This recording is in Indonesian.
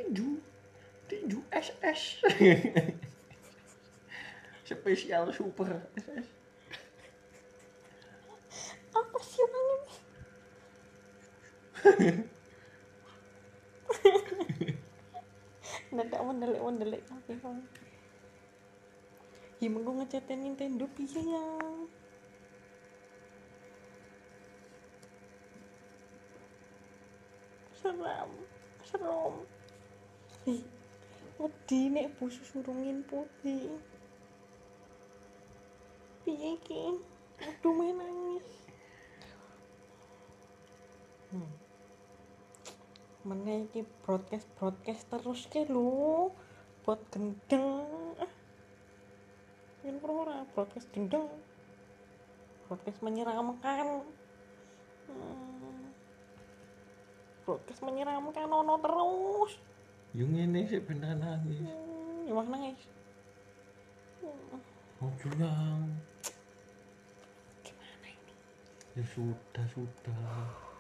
tinju SS. Spesial super SS. Apa sih orangnya? Ndak mendelik tapi kan. Mengko ngecete Nintendo piye ya? Serem. Ih, wedi nek bos surungin putih. Piye iki? Aduh menangis. Meneh iki broadcast terus ke lho. Buat gendeng. Yen ora broadcast gendeng. Broadcast menyeramkan. Broadcast menyeramkan ono terus. Yo ngene sik bener nangis. Emang nangis. Ojo yang. Gimana ini? Ya sudah.